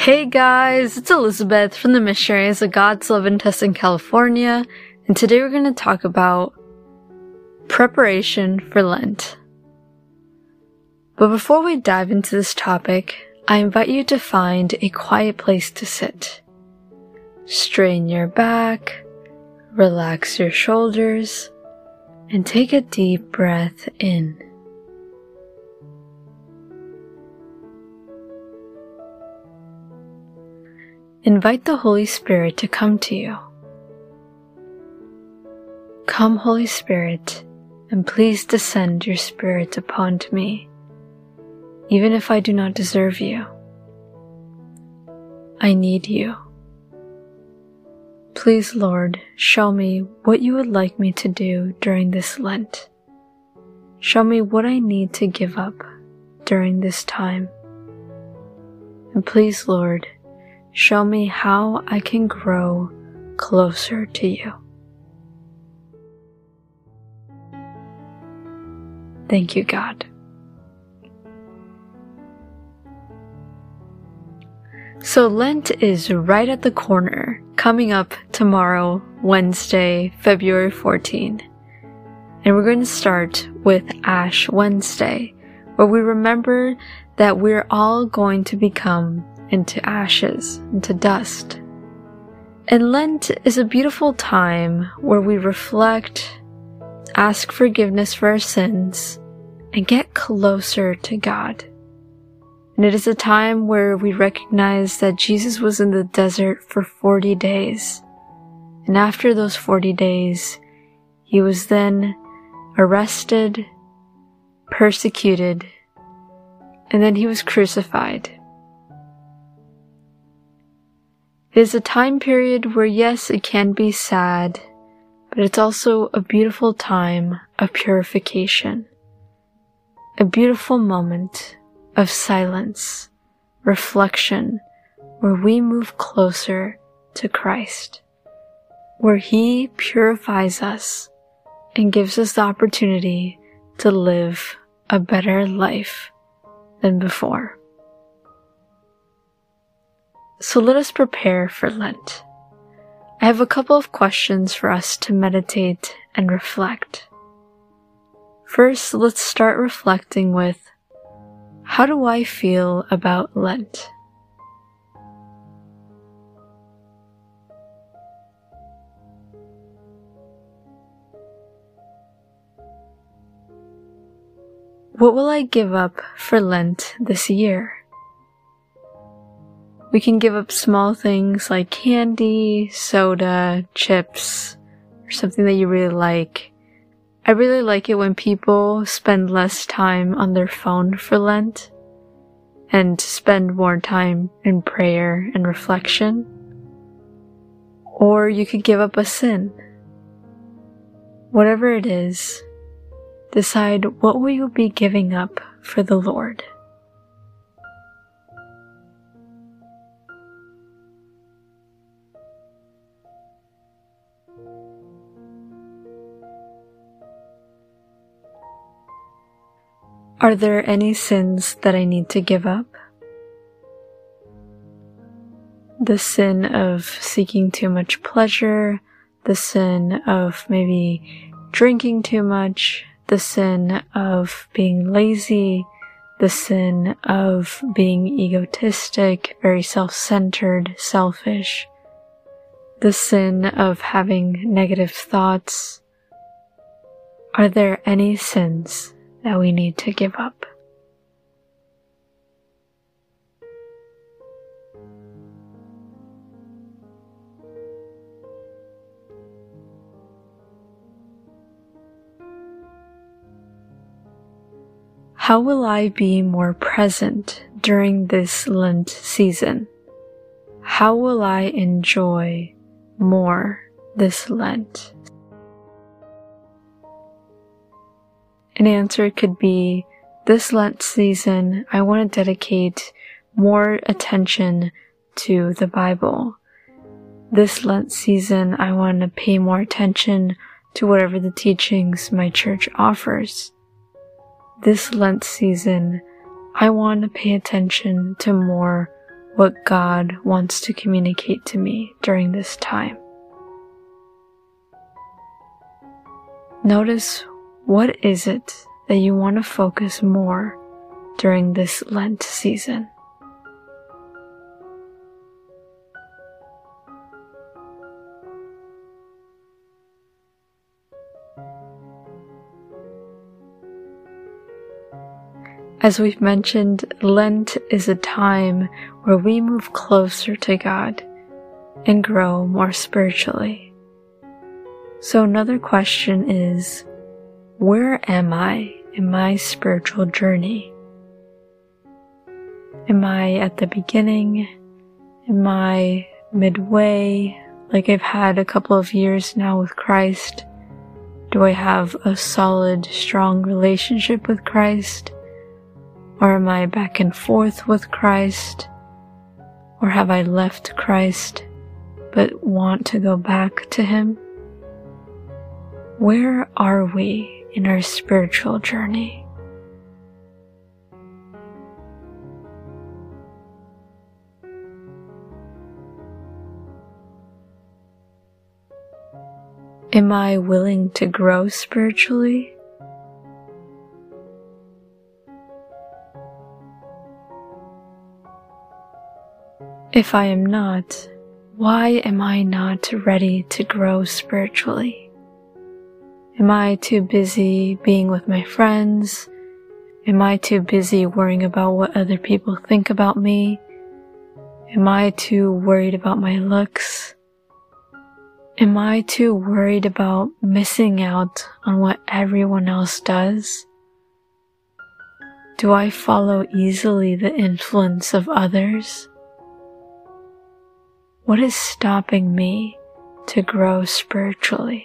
Hey guys, it's Elizabeth from the Missionaries of God's Love in Tustin, California, and today we're going to talk about preparation for Lent. But before we dive into this topic, I invite you to find a quiet place to sit. Straighten your back, relax your shoulders, and take a deep breath in. Invite the Holy Spirit to come to you. Come, Holy Spirit, and please descend your Spirit upon me, even if I do not deserve you. I need you. Please, Lord, show me what you would like me to do during this Lent. Show me what I need to give up during this time. And please, Lord, show me how I can grow closer to you. Thank you, God. So Lent is right at the corner, coming up tomorrow, Wednesday, February 14. And we're going to start with Ash Wednesday, where we remember that we're all going to become into ashes, into dust. And Lent is a beautiful time where we reflect, ask forgiveness for our sins, and get closer to God. And it is a time where we recognize that Jesus was in the desert for 40 days. And after those 40 days, he was then arrested, persecuted, and then he was crucified. It is a time period where, yes, it can be sad, but it's also a beautiful time of purification. A beautiful moment of silence, reflection, where we move closer to Christ, where he purifies us and gives us the opportunity to live a better life than before. So let us prepare for Lent. I have a couple of questions for us to meditate and reflect. First, let's start reflecting with, how do I feel about Lent? What will I give up for Lent this year? We can give up small things like candy, soda, chips, or something that you really like. I really like it when people spend less time on their phone for Lent and spend more time in prayer and reflection. Or you could give up a sin. Whatever it is, decide what will you be giving up for the Lord. Are there any sins that I need to give up? The sin of seeking too much pleasure, the sin of maybe drinking too much, the sin of being lazy, the sin of being egotistic, very self-centered, selfish, the sin of having negative thoughts. Are there any sins that we need to give up? How will I be more present during this Lent season? How will I enjoy more this Lent? An answer could be, this Lent season, I want to dedicate more attention to the Bible. This Lent season, I want to pay more attention to whatever the teachings my church offers. This Lent season, I want to pay attention to more what God wants to communicate to me during this time. Notice, what is it that you want to focus more during this Lent season? As we've mentioned, Lent is a time where we move closer to God and grow more spiritually. So another question is, where am I in my spiritual journey? Am I at the beginning? Am I midway? Like I've had a couple of years now with Christ? Do I have a solid, strong relationship with Christ? Or am I back and forth with Christ? Or have I left Christ but want to go back to Him? Where are we in our spiritual journey? Am I willing to grow spiritually? If I am not, why am I not ready to grow spiritually? Am I too busy being with my friends? Am I too busy worrying about what other people think about me? Am I too worried about my looks? Am I too worried about missing out on what everyone else does? Do I follow easily the influence of others? What is stopping me to grow spiritually?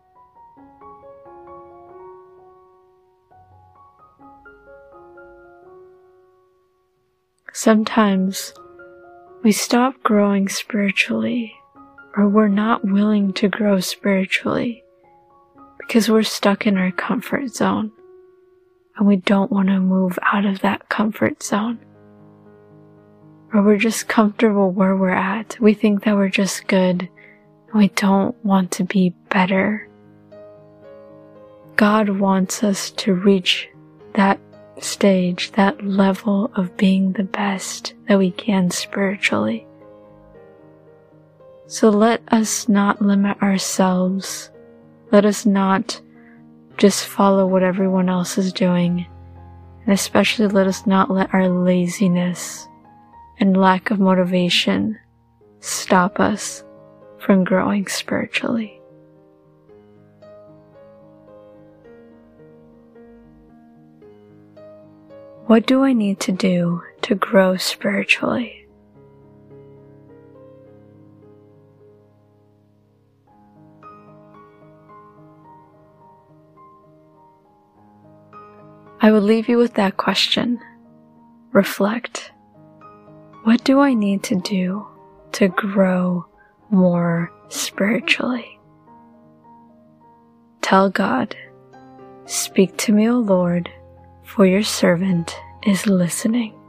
Sometimes we stop growing spiritually, or we're not willing to grow spiritually because we're stuck in our comfort zone and we don't want to move out of that comfort zone. Or we're just comfortable where we're at. We think that we're just good and we don't want to be better. God wants us to reach that stage, that level of being the best that we can spiritually. So let us not limit ourselves. Let us not just follow what everyone else is doing. And especially let us not let our laziness and lack of motivation stop us from growing spiritually. What do I need to do to grow spiritually? I will leave you with that question. Reflect. What do I need to do to grow more spiritually? Tell God, "Speak to me, O Lord, for your servant is listening."